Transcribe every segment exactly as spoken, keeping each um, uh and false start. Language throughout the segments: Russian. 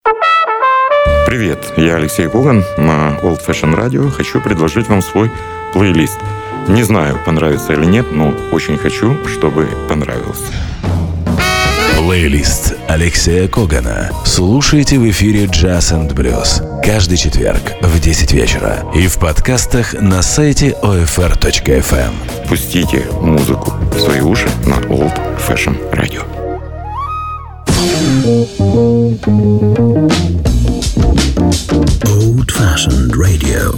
Привет, я Алексей Коган на Old Fashion Radio. Хочу предложить вам свой плейлист. Не знаю, понравится или нет, но очень хочу, чтобы понравился. Плейлист Алексея Когана. Слушайте в эфире Jazz энд Blues каждый четверг в десять вечера и в подкастах на сайте о эф эр точка эф эм. Пустите музыку в свои уши на Old Fashion Radio. Old Fashioned Radio.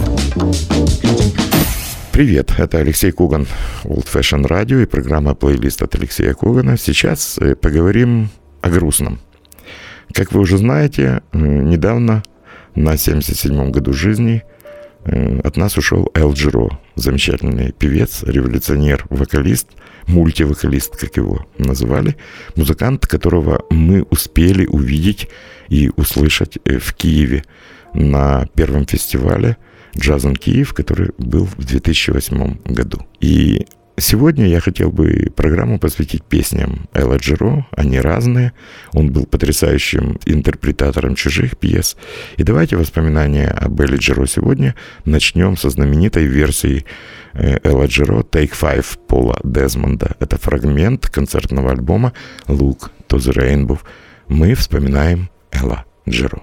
Привет, это Алексей Коган, Old Fashion Radio и программа «Плейлист» от Алексея Когана. Сейчас поговорим о грустном. Как вы уже знаете, недавно, на семьдесят седьмом году жизни, от нас ушел Эл Джиро, замечательный певец, революционер, вокалист, мультивокалист, как его называли, музыкант, которого мы успели увидеть и услышать в Киеве на первом фестивале «Джаз Киев», который был в две тысячи восьмом году. И сегодня я хотел бы программу посвятить песням Элла Джиро. Они разные. Он был потрясающим интерпретатором чужих пьес. И давайте воспоминания об Элле Джиро сегодня начнем со знаменитой версии Элла Джиро «Take Five» Пола Дезмонда. Это фрагмент концертного альбома «Look to the Rainbow». Мы вспоминаем Элла Джиро.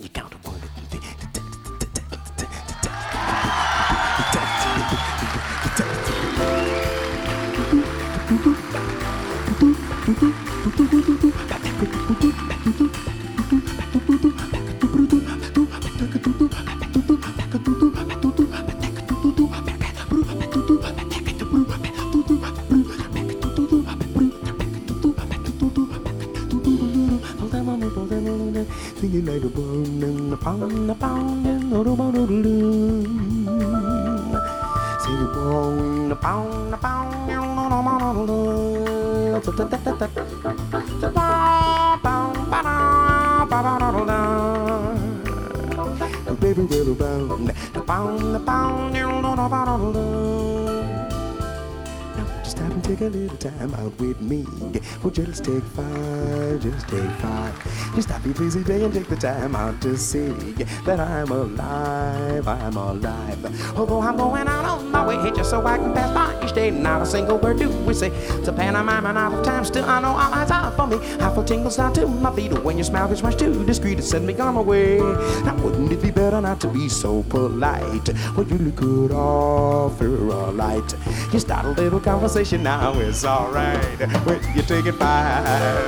Just stop and take a little time out with me. Oh, just take five, just take five. Just stop your busy day and take the time out to see that I'm alive, I'm alive. Although I'm going out on my way just so I can pass by each day, not a single word do we say. It's a pantomime and out of time, still I know all eyes are for me. I feel tingles down to my feet when your smile gets much too discreet to send me on my way. Now wouldn't it be better not to be so polite? Well, you could offer a light. You start a little conversation now, it's alright when you take it by.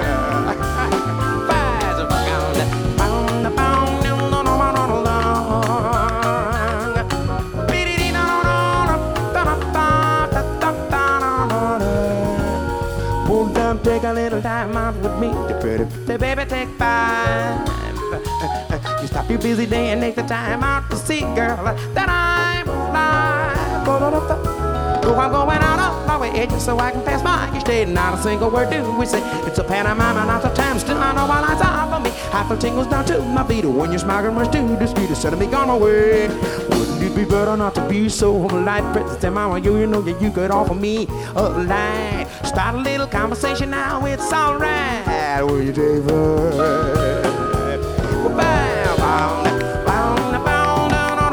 Take a little time out with me, the pretty, the baby, take five. You stop your busy day and take the time out to see, girl, that I'm alive. Oh, I'm going out of my way just so I can pass by each day. Not a single word do we say. It's a pantomime and out of time, still I know my lines are for me. I feel tingles down to my feet when you're smiling much too discreet to send me on my way. Wouldn't it be better not to be so polite? President Mama, you, you know that you could offer me a light. Start a little conversation now, it's alright. Will you take five? Bow, bow, bow, bow, down,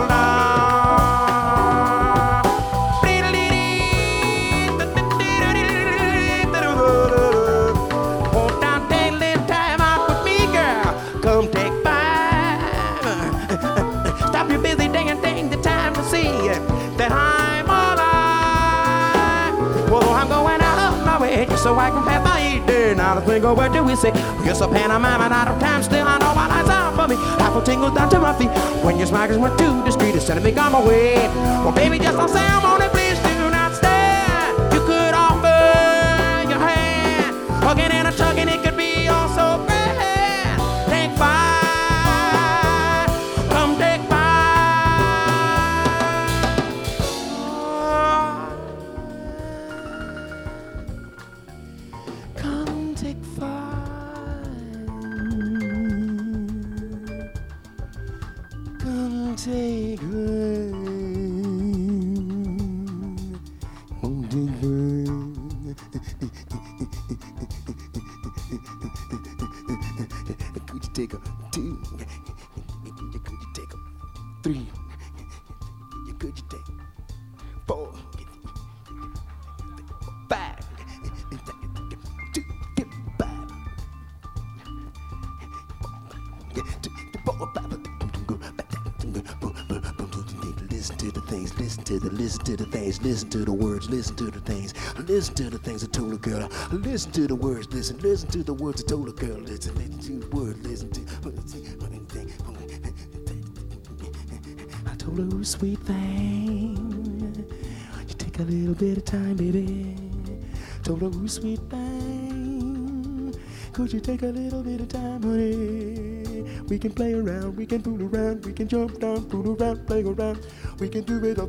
won't down, take a little time out with me, girl. Come take five. Stop your busy day and take the time to see that I'm alive. Well, I'm going out of my way just so I can pass by each day. Not a single word do we say. Yes, a pantomime and out of time, still I know my eyes are for me. I feel tingles down to my feet when your smiles went too discreet to send me on my way. Well, baby, just don't say I'm on it, please do not stare. You could offer your hand, hugging and a tugging, it could be all so grand. Take five, come take five. Come take five. Come take five. Come take five. Could you take a two, you could you take a three, you could you take four, five, two, five, four, five. Listen to the things, listen to the, listen to the things, listen to the words, listen to the things, listen to the things I told a girl. Listen to the words, listen, listen to the words I told a girl. Listen, listen to the words, listen to. I told her, sweet thing, you take a little bit of time, baby. Told her, sweet thing, could you take a little bit of time, honey? We can play around, we can fool around, we can jump down, fool around, play around. We can do it.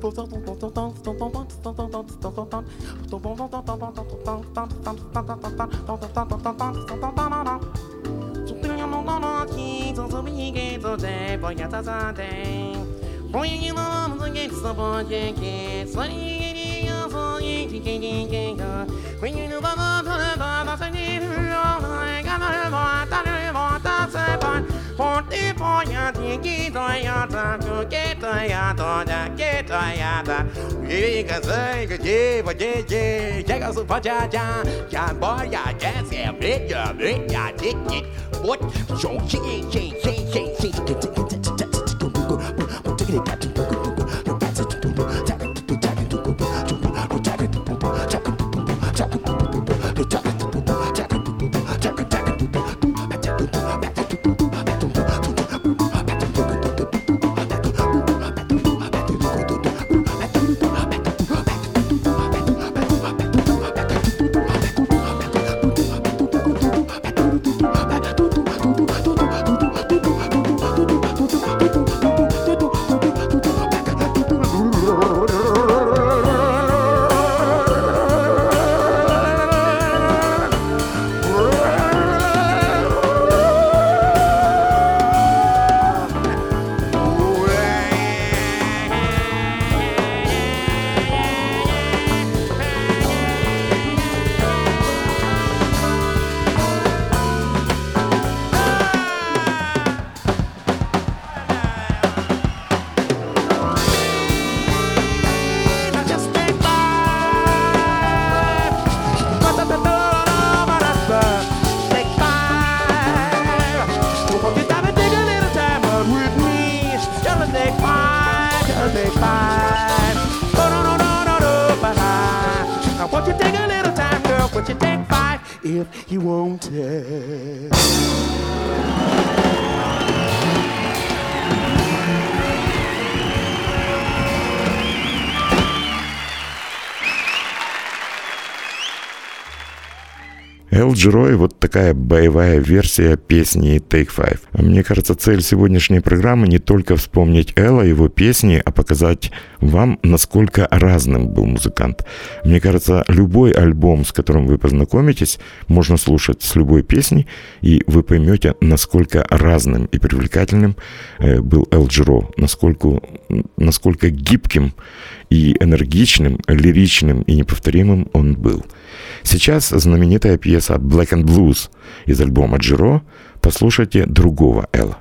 Forty-four, ya, get ya, get ya, get ya, you can say, yeah, but yeah, yeah, check out super ja, ja, ja, boy, ya, yes, yeah, big, ya, big, ya, dick, it, what, so, she, she, she, she, she, if you want it. Эл Джиро, вот такая боевая версия песни Take Five. Мне кажется, цель сегодняшней программы не только вспомнить Элла, его песни, а показать вам, насколько разным был музыкант. Мне кажется, любой альбом, с которым вы познакомитесь, можно слушать с любой песней, и вы поймете, насколько разным и привлекательным был Эл Джиро, насколько, насколько гибким и энергичным, лиричным и неповторимым он был. Сейчас знаменитая пьеса «Black and Blues» из альбома Джиро. Послушайте другого Элла.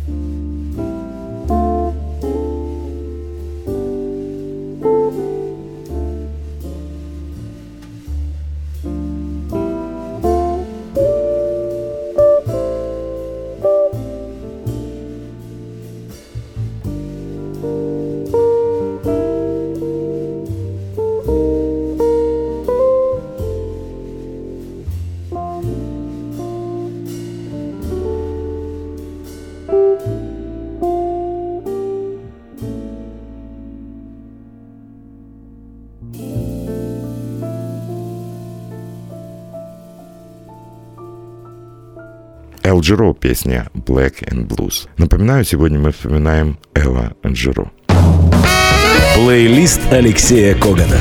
Эл Джиро, песня Black and Blues. Напоминаю, сегодня мы вспоминаем Элла Джиро. Плейлист Алексея Когана.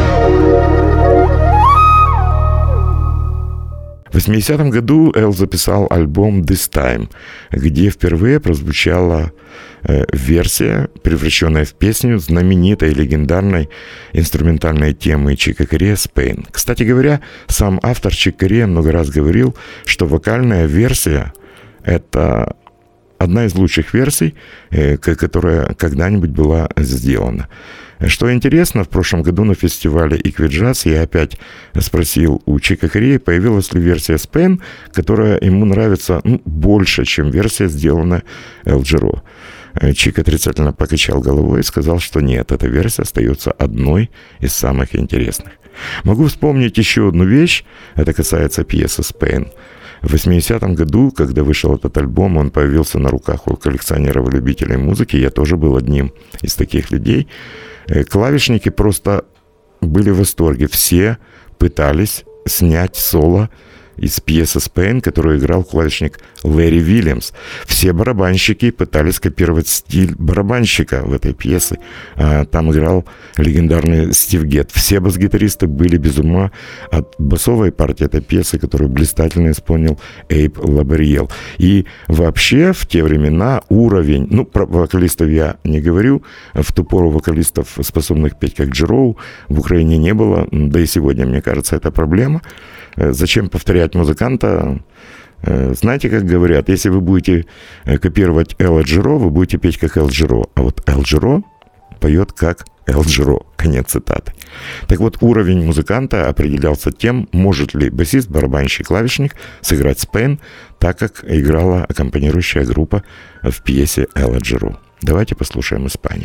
В восьмидесятом году Эл записал альбом «This Time», где впервые прозвучала э, версия, превращенная в песню знаменитой легендарной инструментальной темы Чика Кориа «Spain». Кстати говоря, сам автор Чик Кориа много раз говорил, что вокальная версия — это одна из лучших версий, э, которая когда-нибудь была сделана. Что интересно, в прошлом году на фестивале Equiджаз я опять спросил у Чика Кориа, появилась ли версия Spain, которая ему нравится ну, больше, чем версия, сделанная Эл Джиро. Чик отрицательно покачал головой и сказал, что нет, эта версия остается одной из самых интересных. Могу вспомнить еще одну вещь, это касается пьесы Spain. В восьмидесятом году, когда вышел этот альбом, он появился на руках у коллекционеров и любителей музыки, я тоже был одним из таких людей. Клавишники просто были в восторге. Все пытались снять соло из пьесы Spain, которую играл клавишник Лэри Вильямс. Все барабанщики пытались копировать стиль барабанщика в этой пьесе. А там играл легендарный Стив Гетт. Все бас-гитаристы были без ума от басовой партии этой пьесы, которую блистательно исполнил Эйб Лабариел. И вообще в те времена уровень, ну, про вокалистов я не говорю, в ту пору вокалистов, способных петь как Джиро, в Украине не было, да и сегодня, мне кажется, это проблема. Зачем повторять музыканта? Знаете, как говорят, если вы будете копировать Элла Джиро, вы будете петь как Эл Джиро, а вот Эл Джиро поет как Эл Джиро. Конец цитаты. Так вот, уровень музыканта определялся тем, может ли басист, барабанщик, клавишник сыграть Spain так, как играла аккомпанирующая группа в пьесе Элла Джиро. Давайте послушаем Испанию.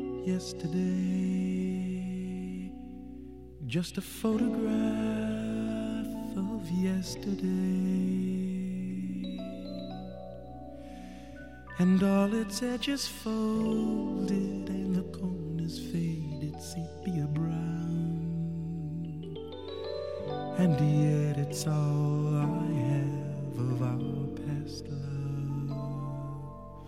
Just a photograph of yesterday, and all its edges folded and the corners faded sepia brown, and yet it's all I have of our past love,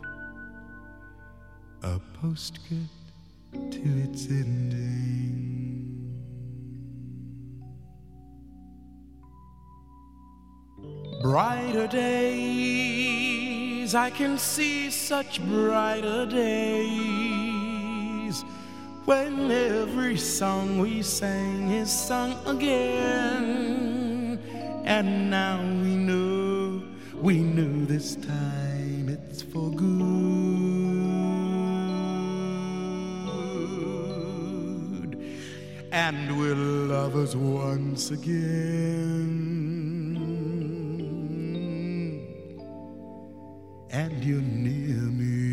a postscript to its ending. Brighter days, I can see such brighter days, when every song we sang is sung again. And now we know, we know this time it's for good, and we're lovers once again. And you're near me.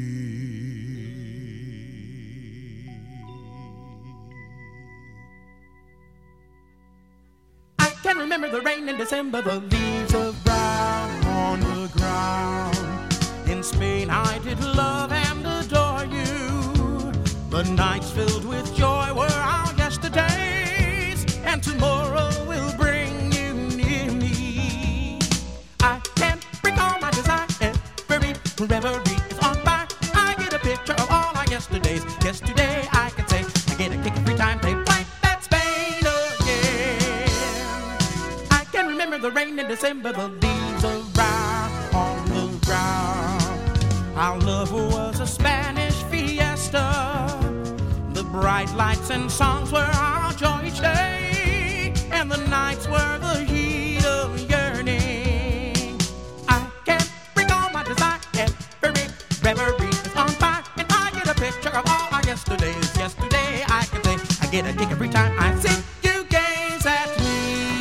I can remember the rain in December, the leaves of brown on the ground. In Spain I did love and adore you. The nights filled with joy were our yesterdays, and tomorrow will bring you near me. I can't recall my desire. Reverie is on fire. I get a picture of all our yesterdays. Yesterday I can say I get a kick every time they play that Spain again. I can remember the rain in December, the leaves of brown on the ground. Our love was a Spanish fiesta. The bright lights and songs were our joy each day, and the nights were the heat of yearning. I can't recall my desire every reverie is on fire, and I get a picture of all our yesterdays. Yesterday I can say I get a kick every time I see you gaze at me.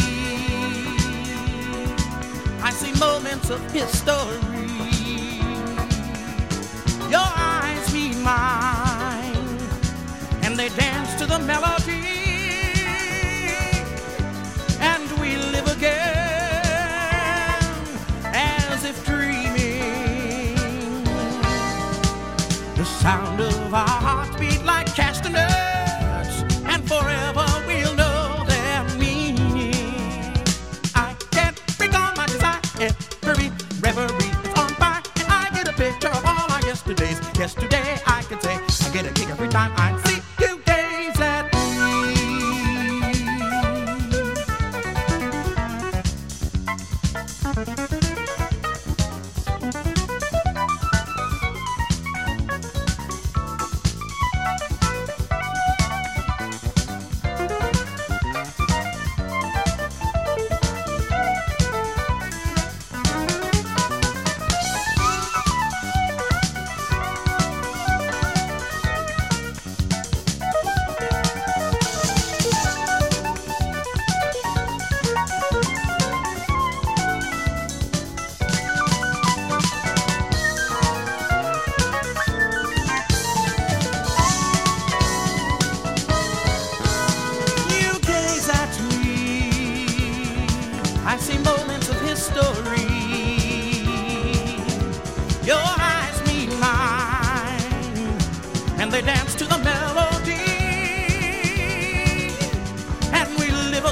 I see moments of history. Your eyes meet mine, and they dance to the melody, and we live again as if dreaming. The sound of our hearts beat like castanets, and forever we'll know their meaning. I can't recall my desire, every reverie is on fire, and I get a picture of all our yesterdays. Yesterday I can say I get a kick every time I see you gaze at me. I see moments of history. Your eyes meet mine, and they dance to the melody, and we live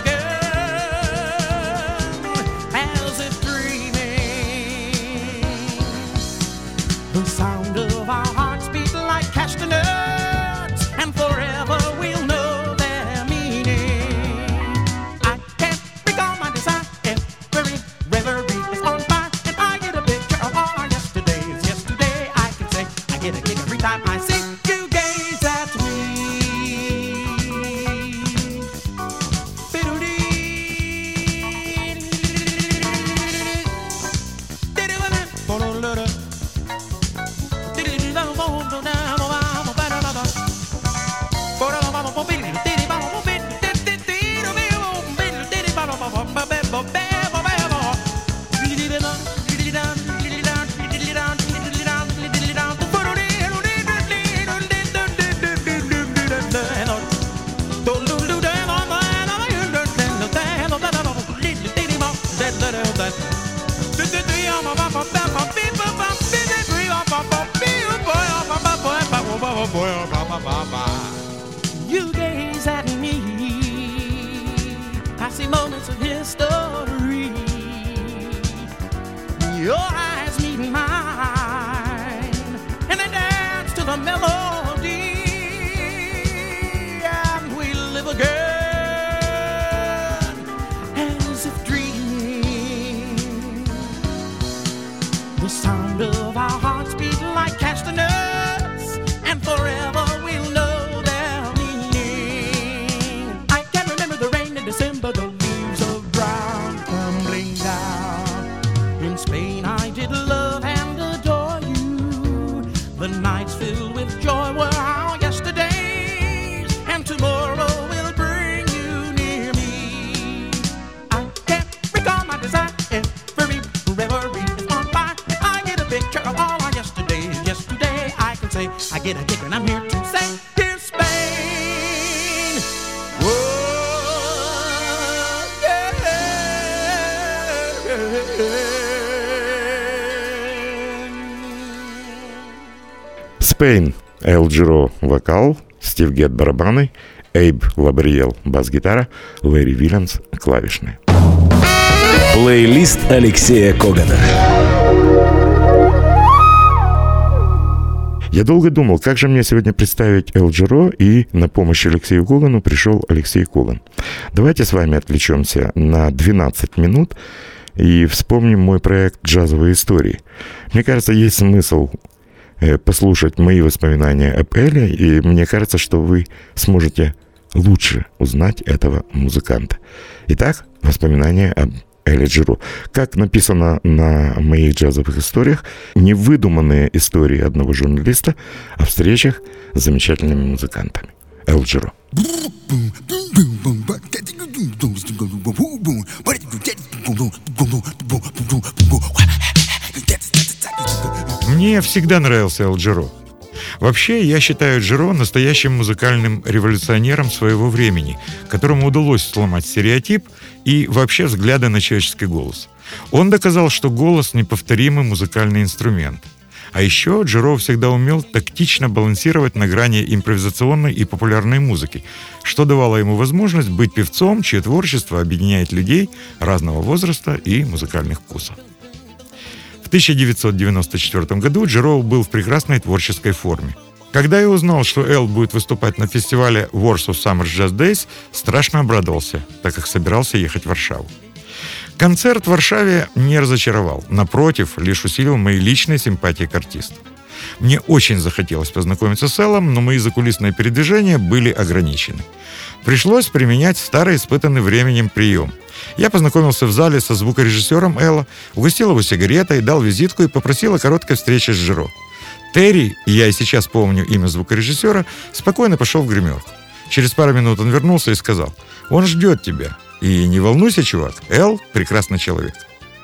again as if dreaming. The sound of our hearts beat like castanets, and forever we'll know their meaning. I can't recall my desire. Every reverie is on fire, and I get a picture of all our yesterdays. Yesterday I can say I get a kick every time I see you gaze at me. You gaze at me, I see moments of history. Your eyes meet mine, and they dance to the melody, and we live again as if dreaming. The sound of our hearts beat like castanets, and forever we'll know their meaning. I can remember the rain in December, the leaves of brown tumbling down. In Spain I did love and adore you. The nights filled with joy were our yesterdays, and tomorrow will bring you near me. I can't recall my desire, every reverie is on fire, and I get a picture of all our yesterdays. Yesterday I can say I get a kick when I'm here to say, here's Spain. Whoa, yeah. Spain, Эл Джиро вокал, Стив Гетт барабаны, Эйб Лабриел бас-гитара, Лэри Вильямс клавишные. Плейлист Алексея Когана. Я долго думал, как же мне сегодня представить Эл Джиро, и на помощь Алексею Когану пришел Алексей Коган. Давайте с вами отвлечемся на двенадцать минут и вспомним мой проект «Джазовые истории». Мне кажется, есть смысл послушать мои воспоминания об Эле, и мне кажется, что вы сможете лучше узнать этого музыканта. Итак, воспоминания об Эля Джиро. Как написано на моих джазовых историях, невыдуманные истории одного журналиста о встречах с замечательными музыкантами. Эл Джиро. Мне всегда нравился Эл Джиро. Вообще, я считаю Джиро настоящим музыкальным революционером своего времени, которому удалось сломать стереотип и вообще взгляды на человеческий голос. Он доказал, что голос — неповторимый музыкальный инструмент. А еще Джиро всегда умел тактично балансировать на грани импровизационной и популярной музыки, что давало ему возможность быть певцом, чье творчество объединяет людей разного возраста и музыкальных вкусов. В тысяча девятьсот девяносто четвёртом году Джиро был в прекрасной творческой форме. Когда я узнал, что Эл будет выступать на фестивале Warsaw Summer Jazz Days, страшно обрадовался, так как собирался ехать в Варшаву. Концерт в Варшаве не разочаровал. Напротив, лишь усилил мои личные симпатии к артисту. Мне очень захотелось познакомиться с Эллом, но мои закулисные передвижения были ограничены. Пришлось применять старый, испытанный временем прием. Я познакомился в зале со звукорежиссером Элла, угостил его сигаретой, дал визитку и попросил о короткой встрече с Джиро. Терри, я и сейчас помню имя звукорежиссера, спокойно пошел в гримерку. Через пару минут он вернулся и сказал: «Он ждет тебя. И не волнуйся, чувак, Эл — прекрасный человек».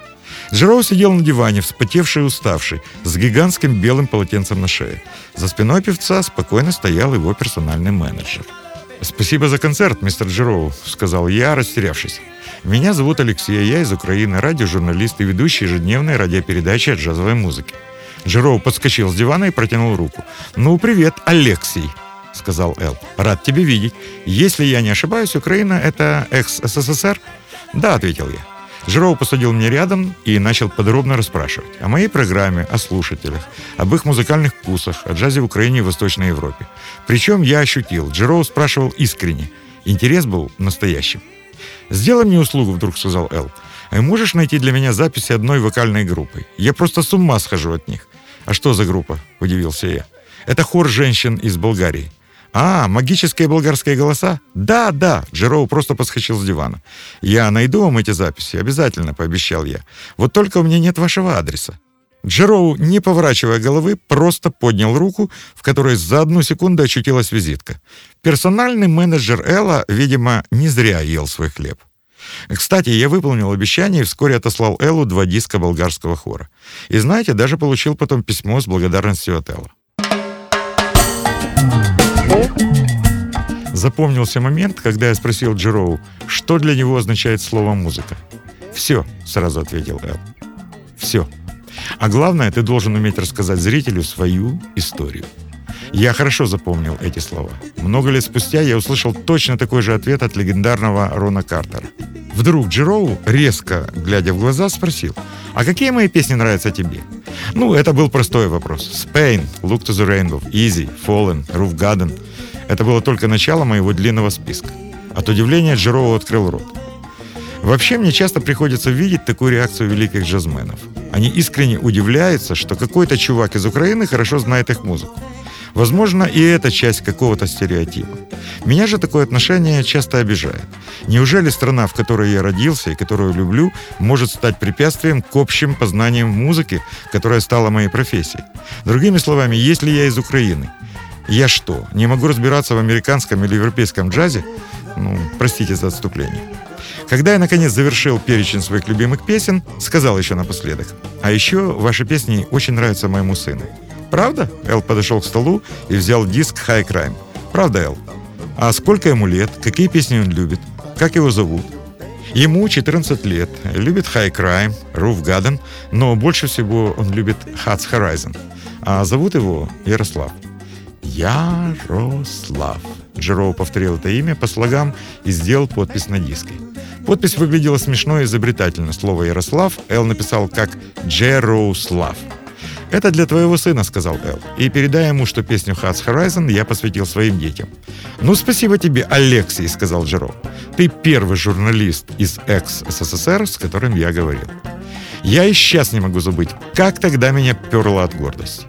Джиро сидел на диване, вспотевший и уставший, с гигантским белым полотенцем на шее. За спиной певца спокойно стоял его персональный менеджер. «Спасибо за концерт, мистер Джиро», — сказал я, растерявшись. «Меня зовут Алексей, я из Украины, радиожурналист и ведущий ежедневной радиопередачи о джазовой музыке». Джиро подскочил с дивана и протянул руку. «Ну, привет, Алексей», — сказал Эл. «Рад тебя видеть. Если я не ошибаюсь, Украина — это экс-СССР?» «Да», — ответил я. Джиро посадил меня рядом и начал подробно расспрашивать о моей программе, о слушателях, об их музыкальных вкусах, о джазе в Украине и Восточной Европе. Причем я ощутил, Джиро спрашивал искренне. Интерес был настоящим. «Сделай мне услугу», — вдруг сказал Эл. «Можешь найти для меня записи одной вокальной группы? Я просто с ума схожу от них». «А что за группа?» — удивился я. «Это хор женщин из Болгарии». «А, магические болгарские голоса?» «Да, да», — Джиро просто подскочил с дивана. «Я найду вам эти записи, обязательно», — пообещал я. «Вот только у меня нет вашего адреса». Джиро, не поворачивая головы, просто поднял руку, в которой за одну секунду очутилась визитка. Персональный менеджер Элла, видимо, не зря ел свой хлеб. Кстати, я выполнил обещание и вскоре отослал Эллу два диска болгарского хора. И знаете, даже получил потом письмо с благодарностью от Элла. Запомнился момент, когда я спросил Джиро, что для него означает слово «музыка». «Все», — сразу ответил Эл. «Все. А главное, ты должен уметь рассказать зрителю свою историю». Я хорошо запомнил эти слова. Много лет спустя я услышал точно такой же ответ от легендарного Рона Картера. Вдруг Джиро, резко глядя в глаза, спросил: «А какие мои песни нравятся тебе?» Ну, это был простой вопрос. Spain, Look to the Rainbow, Easy, Fallen, Roof Garden. Это было только начало моего длинного списка. От удивления Джиро открыл рот. Вообще, мне часто приходится видеть такую реакцию великих джазменов. Они искренне удивляются, что какой-то чувак из Украины хорошо знает их музыку. Возможно, и это часть какого-то стереотипа. Меня же такое отношение часто обижает. Неужели страна, в которой я родился и которую люблю, может стать препятствием к общим познаниям музыки, которая стала моей профессией? Другими словами, если я из Украины, я что, не могу разбираться в американском или европейском джазе? Ну, простите за отступление. Когда я, наконец, завершил перечень своих любимых песен, сказал еще напоследок: «А еще ваши песни очень нравятся моему сыну». «Правда?» Эл подошел к столу и взял диск «High Crime». «Правда, Эл? А сколько ему лет? Какие песни он любит? Как его зовут?» Ему четырнадцать лет. Любит «High Crime», «Roof Garden», но больше всего он любит «Hats Horizon». А зовут его Ярослав. Ярослав. Джиро повторил это имя по слогам и сделал подпись на диске. Подпись выглядела смешно и изобретательно. Слово «Ярослав» Эл написал как «Джерослав». «Это для твоего сына», — сказал Эл. «И передай ему, что песню «Hats Horizon» я посвятил своим детям». «Ну, спасибо тебе, Алексей», — сказал Джиро. «Ты первый журналист из экс-СССР, с которым я говорил. Я и сейчас не могу забыть, как тогда меня перло от гордости».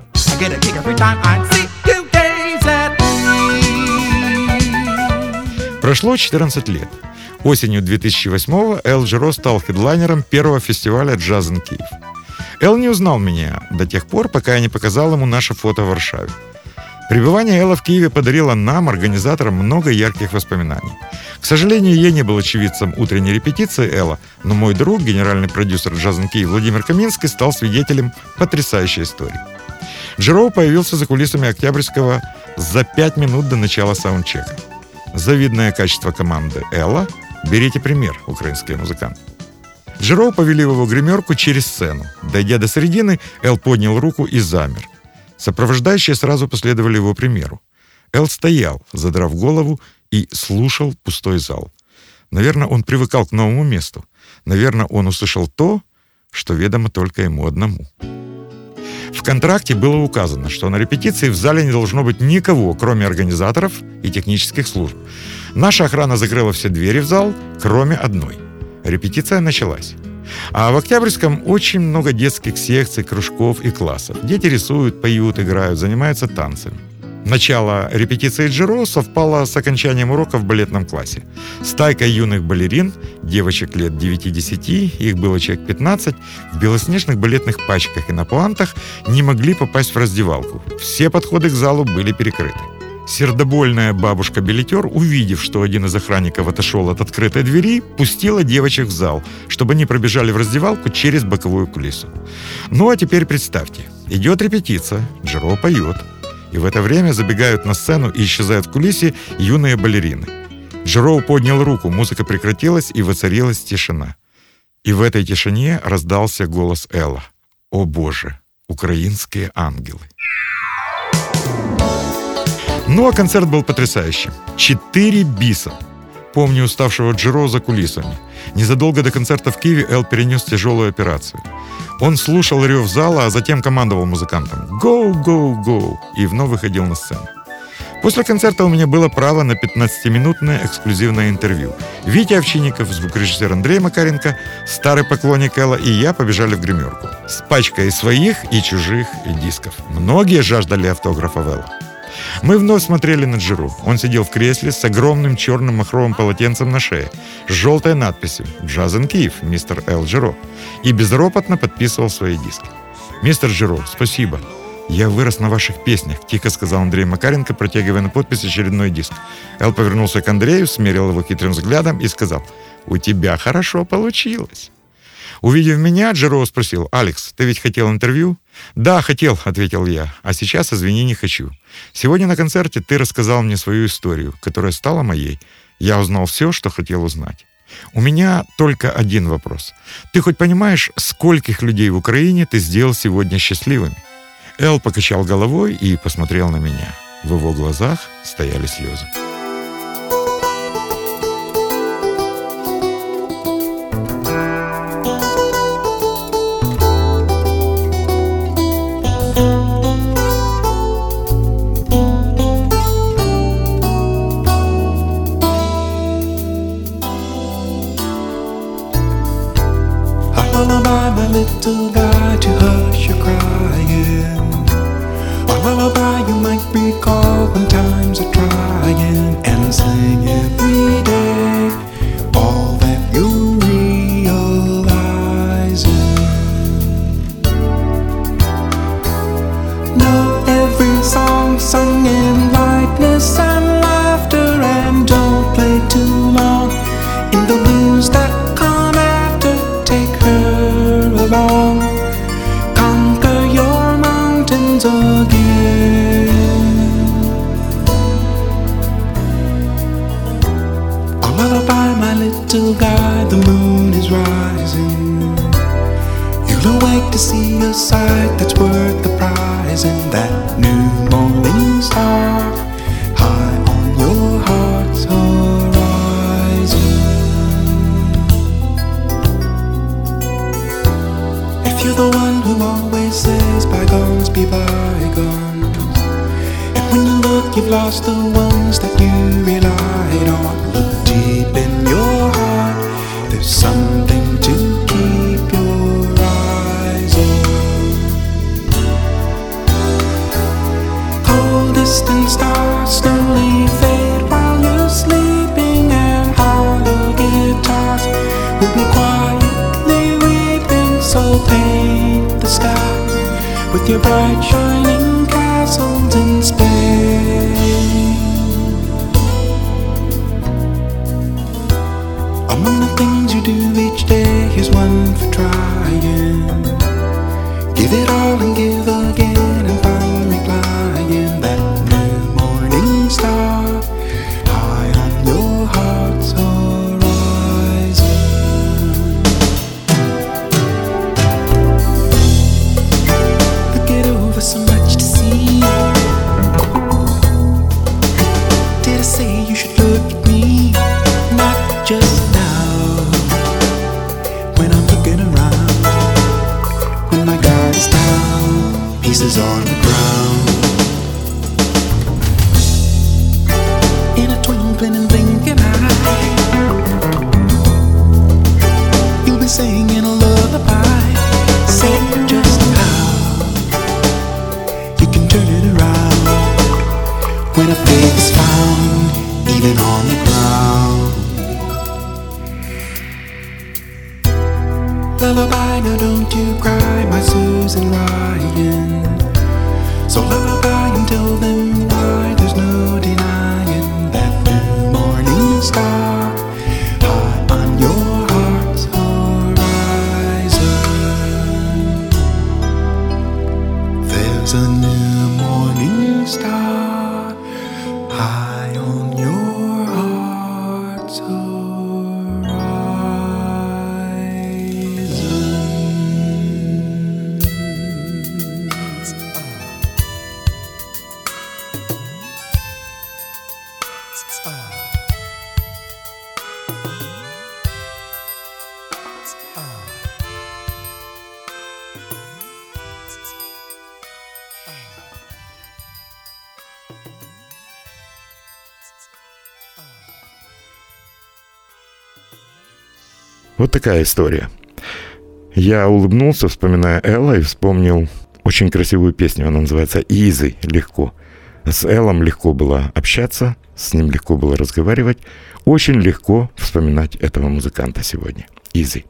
Прошло четырнадцать лет. Осенью две тысячи восьмого Эл Джаро стал хедлайнером первого фестиваля «Джаз ин Киев». Эл не узнал меня до тех пор, пока я не показал ему наше фото в Варшаве. Пребывание Элла в Киеве подарило нам, организаторам, много ярких воспоминаний. К сожалению, я не был очевидцем утренней репетиции Элла, но мой друг, генеральный продюсер «Джаз ин Киев» Владимир Каминский, стал свидетелем потрясающей истории. Джаро появился за кулисами Октябрьского за пять минут до начала саундчека. Завидное качество команды Элла. Берите пример, украинские музыканты. Джаро повели в его гримерку через сцену. Дойдя до середины, Эл поднял руку и замер. Сопровождающие сразу последовали его примеру. Эл стоял, задрав голову, и слушал пустой зал. Наверное, он привыкал к новому месту. Наверное, он услышал то, что ведомо только ему одному. В контракте было указано, что на репетиции в зале не должно быть никого, кроме организаторов и технических служб. Наша охрана закрыла все двери в зал, кроме одной. Репетиция началась. А в Октябрьском очень много детских секций, кружков и классов. Дети рисуют, поют, играют, занимаются танцами. Начало репетиции Джаро совпало с окончанием урока в балетном классе. Стайка юных балерин, девочек лет девяти-десяти, их было человек пятнадцать, в белоснежных балетных пачках и на пуантах не могли попасть в раздевалку. Все подходы к залу были перекрыты. Сердобольная бабушка-билетер, увидев, что один из охранников отошел от открытой двери, пустила девочек в зал, чтобы они пробежали в раздевалку через боковую кулису. Ну а теперь представьте, идет репетиция, Джаро поет, и в это время забегают на сцену и исчезают в кулисе юные балерины. Джаро поднял руку, музыка прекратилась, и воцарилась тишина. И в этой тишине раздался голос Элла. «О Боже, украинские ангелы!» Ну, а концерт был потрясающим. Четыре биса. Помню уставшего Джаро за кулисами. Незадолго до концерта в Киеве Эл перенес тяжелую операцию. Он слушал рев зала, а затем командовал музыкантам «Go, go, go!» и вновь выходил на сцену. После концерта у меня было право на пятнадцатиминутное эксклюзивное интервью. Витя Овчинников, звукорежиссер Андрей Макаренко, старый поклонник Элла и я побежали в гримерку с пачкой своих и чужих дисков. Многие жаждали автографа Элла. Мы вновь смотрели на Джаро. Он сидел в кресле с огромным черным махровым полотенцем на шее, с желтой надписью «Джаз ин Киев, мистер Эл Джаро», и безропотно подписывал свои диски. «Мистер Джаро, спасибо. Я вырос на ваших песнях», — тихо сказал Андрей Макаренко, протягивая на подпись очередной диск. Эл повернулся к Андрею, смерил его хитрым взглядом и сказал: «У тебя хорошо получилось». Увидев меня, Джаро спросил: «Алекс, ты ведь хотел интервью?» «Да, хотел», — ответил я. «А сейчас, извини, не хочу. Сегодня на концерте ты рассказал мне свою историю, которая стала моей. Я узнал все, что хотел узнать. У меня только один вопрос. Ты хоть понимаешь, скольких людей в Украине ты сделал сегодня счастливыми?» Эл покачал головой и посмотрел на меня. В его глазах стояли слезы. Lullaby, my little guy, to hush your crying. A lullaby you might recall when times are trying, and sing every day all that you realize. Know every song sung in lightness and laughter, and don't play too long in the blues that come after. Take her along, conquer your mountains again. A lullaby, my little guy, the moon is rising. You'll awake to see a sight that's worth the prize, and that new morning star high on your heart's horizon. If you're the one who always says bygones be bygones, and when you look you've lost the ones that you relied on, look deep in your heart, there's something to keep your eyes on. Cold distant stars slowly fade while you're sleeping, and hollow again with your bright shining castles in Spain. Among the things you do each day, here's one for trying. Give it all and give again and find replying. That new morning star high on your heart's horizon. Look it over, so much to see. Did I say you should look at me? Not just now, when I'm looking around, when my guard is down, pieces on the ground. In a twinkling and blinking eye, you'll be singing a lullaby. Say just how you can turn it around when a faith is found, even on the ground. Lullaby, now don't you cry, my Susan Ryan. So lullaby and tell them why there's no denying that new morning star high on your heart's horizon. There's a new morning star high on your heart's horizon. Вот такая история. Я улыбнулся, вспоминая Элла, и вспомнил очень красивую песню. Она называется «Easy», легко. С Эллом легко было общаться, с ним легко было разговаривать. Очень легко вспоминать этого музыканта сегодня. «Easy».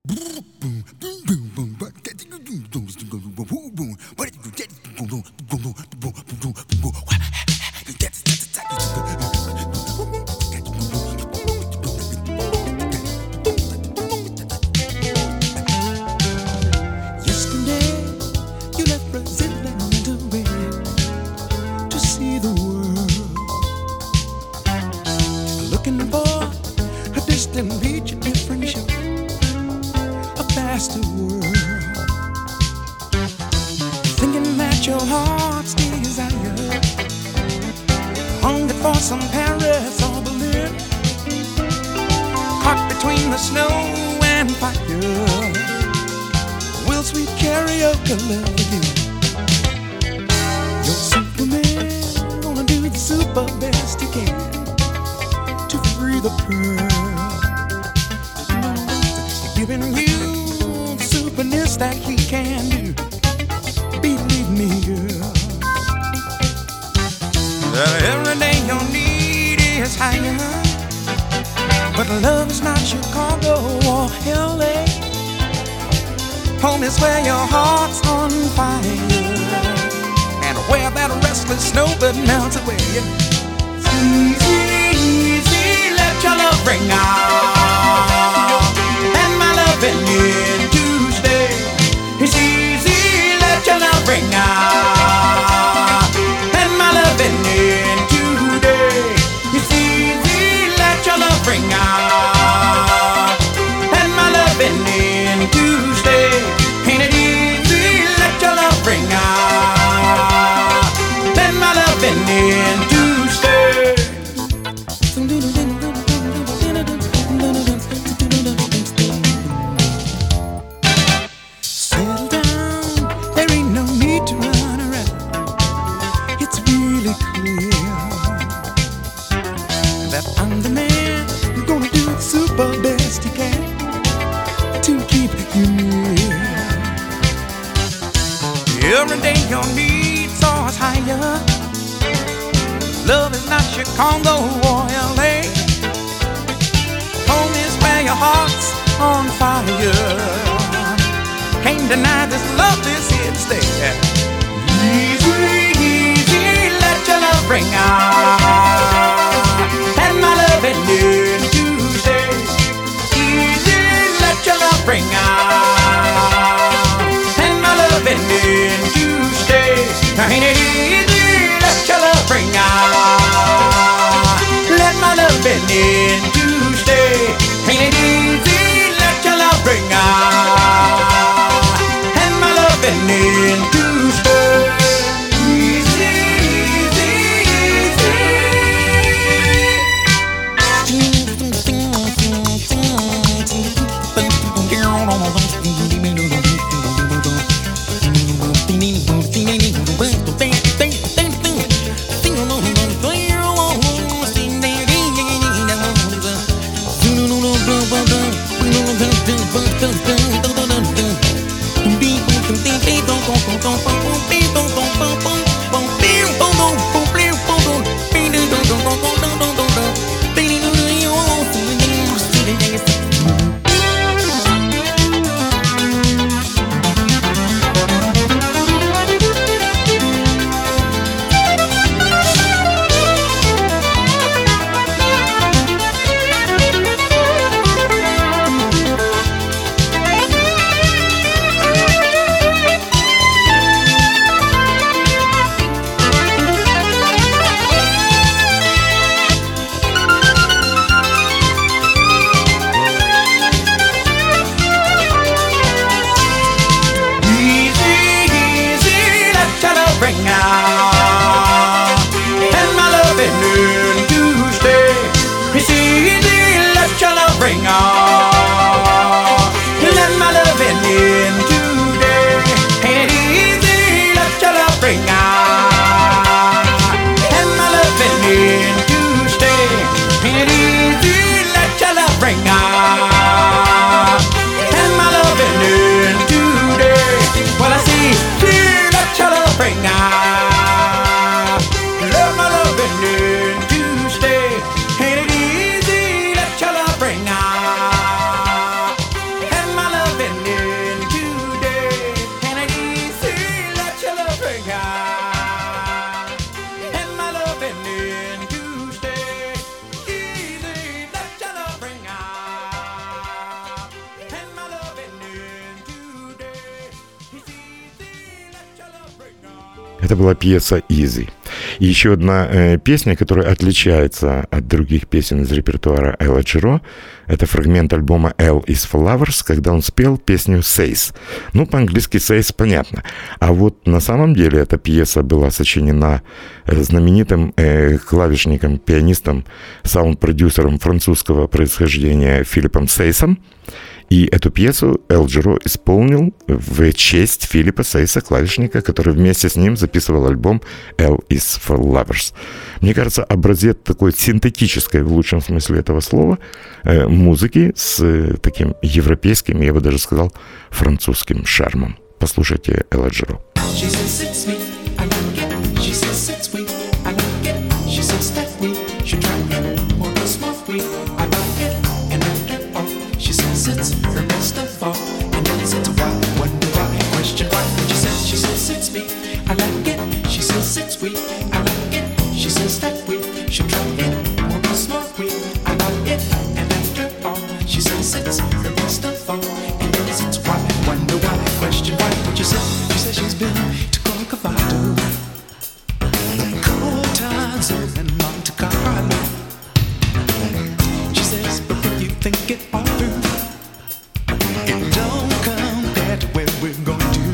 Every day your needs are higher. Love is not Chicago or L A. Home is where your heart's on fire. Can't deny this love is here to stay. Ain't it easy? Let your love bring out. Let my love in to stay. Ain't it easy? Let your love bring out. And my love in to stay. Easy, easy, Это была пьеса «Easy». И еще одна э, песня, которая отличается от других песен из репертуара Элла Джиро, это фрагмент альбома «L is Flowers», когда он спел песню «Says». Ну, по-английски «Says» понятно. А вот на самом деле эта пьеса была сочинена знаменитым э, клавишником, пианистом, саунд-продюсером французского происхождения Филиппом Сейсом. И эту пьесу Эл Джиро исполнил в честь Филиппа Сейса, клавишника, который вместе с ним записывал альбом «L is for Lovers». Мне кажется, образец такой синтетической, в лучшем смысле этого слова, э, музыки с э, таким европейским, я бы даже сказал, французским шармом. Послушайте Элла Джиро. It's her best of all, and then it's why, wonder why, question why. She says, she says it's me, I like it. She says it's sweet, I like it. She says that we should try it, more than smoke weed, I like it. And after all, she says it's her best of all, and then it's why, wonder why, question why. What you say? She says she's been to Corcovado, Cortazzo and Monte Carlo. She says, but when you think it all through, it don't compare to where we're going to.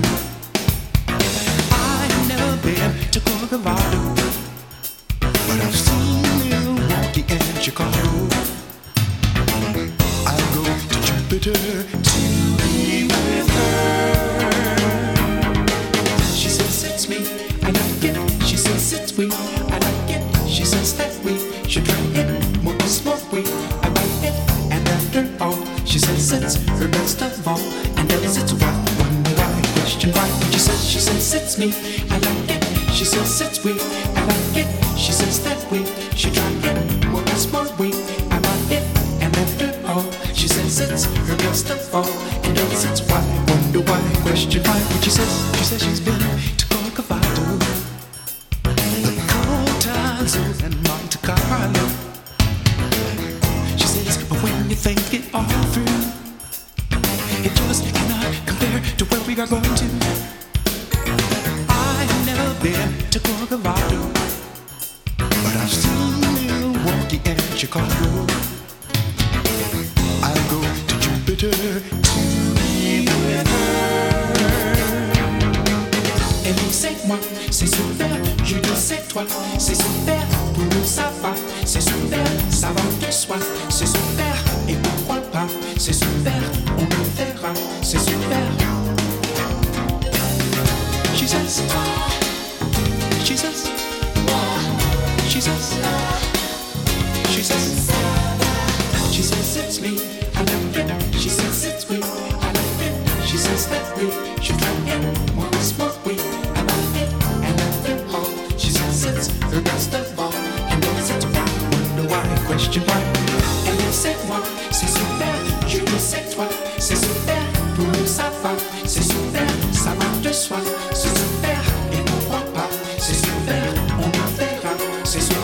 I've never been to Corcovado, but I've seen Milwaukee and Chicago. I'll go to Jupiter to be with her. She says it's me, I like it. She says it's we, I like it. She says that we should try it, more than smoke weed, I like it. And after all, she says it's her best of all, and then it's why, wonder why, question why. She says, she says it's me, I like it. She says it's we, I like it. She says that we should try it, more than smoke weed, I like it. And after all, she says it's her best of all, and then it's why, wonder why, question why. What she says, she says she's been to Corcovado, the Cortazzo and Monte Carlo. She says, but when you think it all through, it just cannot compare to where we are going to. I've never been to Colorado, but I've seen Milwaukee and Chicago. I'll go to Jupiter to be with her. Elle dit c'est moi, c'est super. Je dis c'est toi, c'est super. Tout le monde ça va, c'est super. Ça va de soi, c'est super. Et pourquoi pas, c'est super. On le verra, c'est super. She says, she says, she says, she says, she says it's me, I love it. She says it's me, I love it. She says that we should try it once more. We, I love it, and love it all. She says it's the best of all, and knows it's right. Wonder why, question why. Elle dit c'est moi, c'est super. Je dis c'est toi, c'est super. Tout le monde ça va, c'est super. Ça va de soi, c'est super. Et pourquoi pas, c'est super. On le verra, c'est super.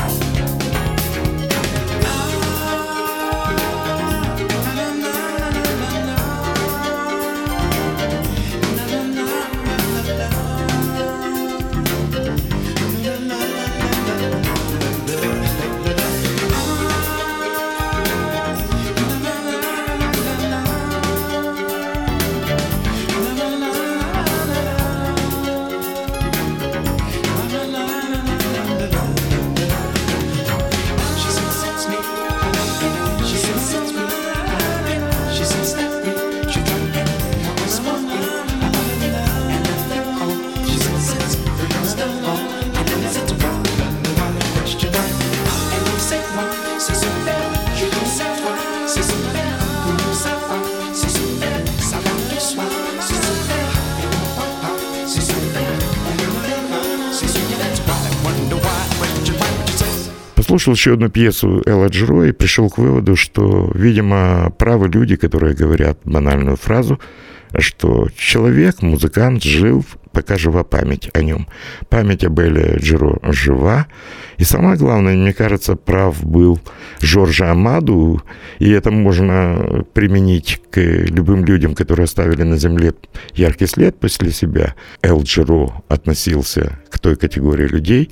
Послушал еще одну пьесу Элла Джеро и пришел к выводу, что, видимо, правы люди, которые говорят банальную фразу, что человек, музыкант, жил, пока жива память о нем. Память об Элле Джеро жива. И самое главное, мне кажется, прав был Жорж Амаду, и это можно применить к любым людям, которые оставили на земле яркий след после себя. Эл Джеро относился к той категории людей,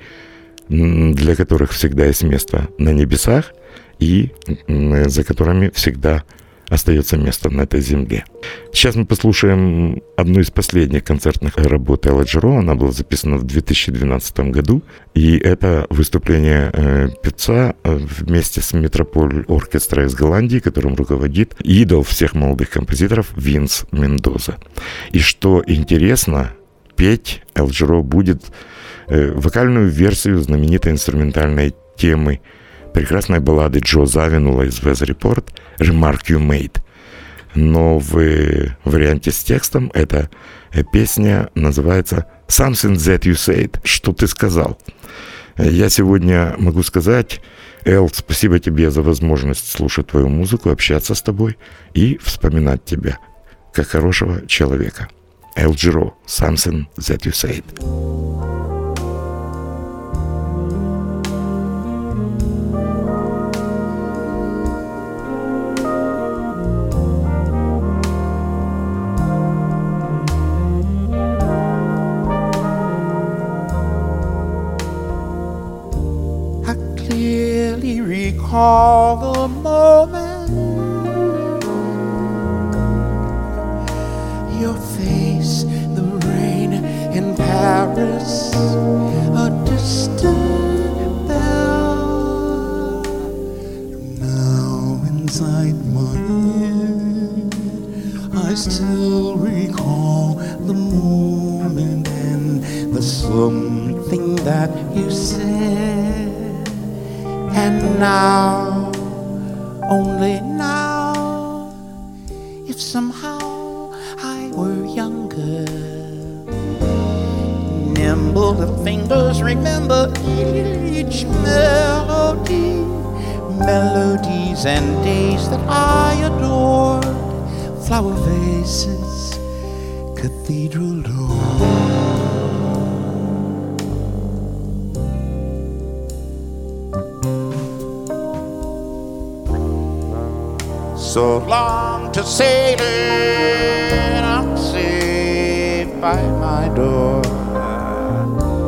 для которых всегда есть место на небесах и за которыми всегда остается место на этой земле. Сейчас мы послушаем одну из последних концертных работ Элла Джеро. Она была записана в две тысячи двенадцатом году. И это выступление э, певца вместе с Метрополь Оркестра из Голландии, которым руководит идол всех молодых композиторов Винс Мендоза. И что интересно, петь Эл Джеро будет э, вокальную версию знаменитой инструментальной темы прекрасной баллады Джо Завинула из Weather Report «Remark You Made». Но в варианте с текстом эта песня называется «Something That You Said», «Что ты сказал». Я сегодня могу сказать, Эл, спасибо тебе за возможность слушать твою музыку, общаться с тобой и вспоминать тебя как хорошего человека. Эл Джеро, «Something That You Said». Recall the moment, your face, the rain in Paris, a distant bell. Now inside my head, I still recall the moment and the something that you said. And now, only now, if somehow I were younger, nimble little fingers remember each melody, melodies and days that I adored, flower vases, cathedral doors. So long to sailing, I'm safe by my door.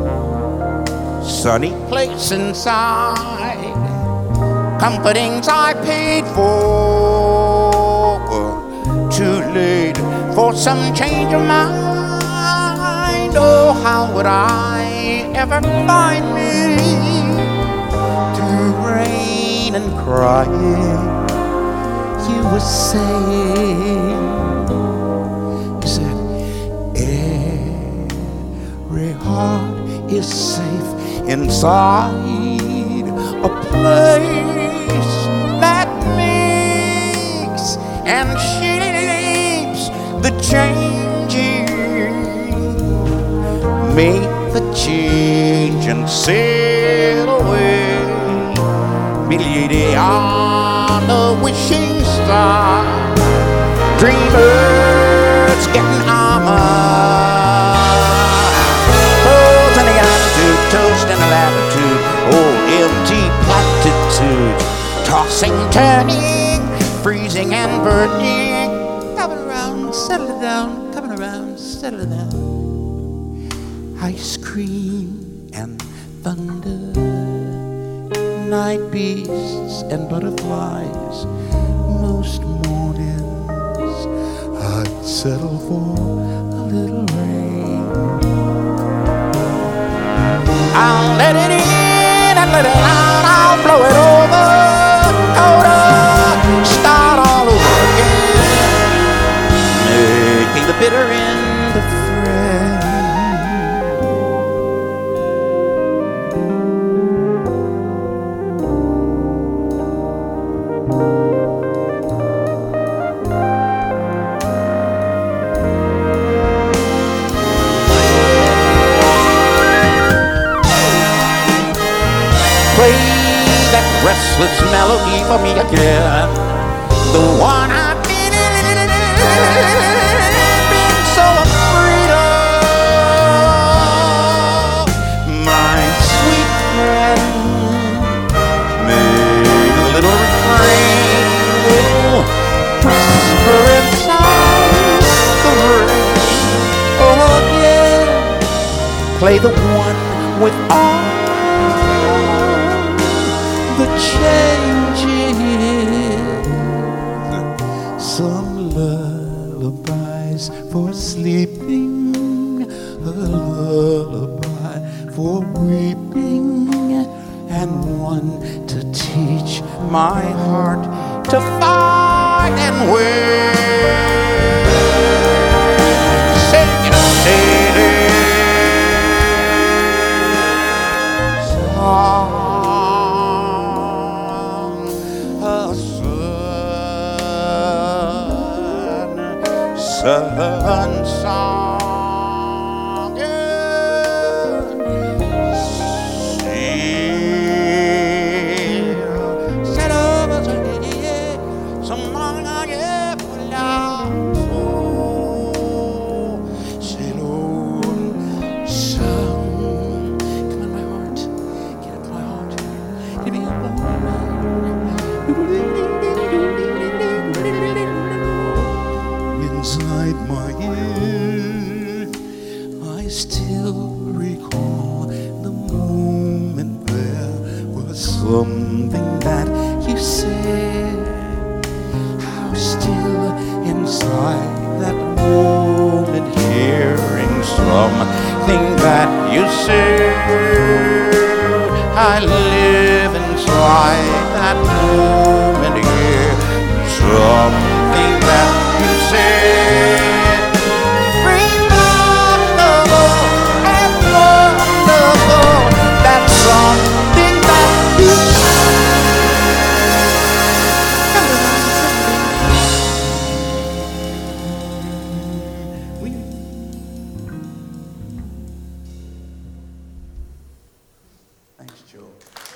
sunny place inside. Comfortings I paid for were too late for some change of mind. Oh, how would I ever find me through rain and crying? You were saying, you said, every heart is safe inside a place that makes and shapes the changing. Make the change and sail away, beyond the wishing star. Dreamers getting armor, toes in the attitude, toast in the latitude, old empty platitudes, tossing, turning, freezing and burning. Coming around, settle it down, coming around, settle it down. Ice cream and thunder, night beasts and butterflies. Most mornings I'd settle for a little rain. I'll let it in and let it out, I'll blow it over, over, start all over again, making the bitter end a friend. Restless melody for me again, the one I've been, been so afraid of. My sweet friend, make a little refrain, whisper inside the rain. Oh yeah, play the one with all the changing, some lullabies for sleeping, a lullaby for weeping, and one to teach my heart to fight and win. Sing it, sing it, song. Sun song, yeah. Sail, sail over the yeah, some morning I get full of soul. Sail on, song, come on my heart, get up my heart, give me a inside my ear, I still recall the moment there was something that you said. How still inside that moment, hearing something that you said. I live inside that moment here, something that you said, remarkable and wonderful. That's something that you Thanks, Joe.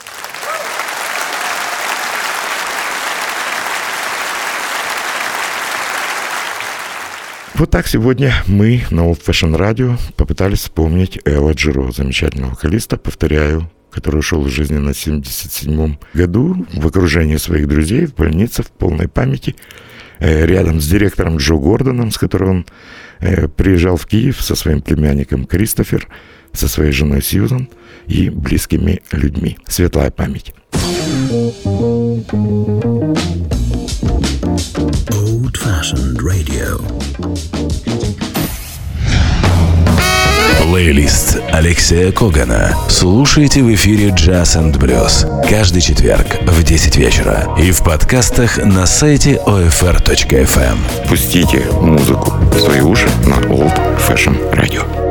Вот так сегодня мы на Old Fashion Radio попытались вспомнить Элла Джиро, замечательного вокалиста, повторяю, который ушел из жизни на семьдесят седьмом году в окружении своих друзей в больнице в полной памяти, рядом с директором Джо Гордоном, с которым он приезжал в Киев со своим племянником Кристофер. со своей женой Сьюзан и близкими людьми. Светлая память. Old-fashioned radio. Плейлист Алексея Когана слушайте в эфире Jazz энд Blues каждый четверг в десять вечера и в подкастах на сайте о эф эр точка эф эм. Пустите музыку в свои уши на Old Fashion Radio.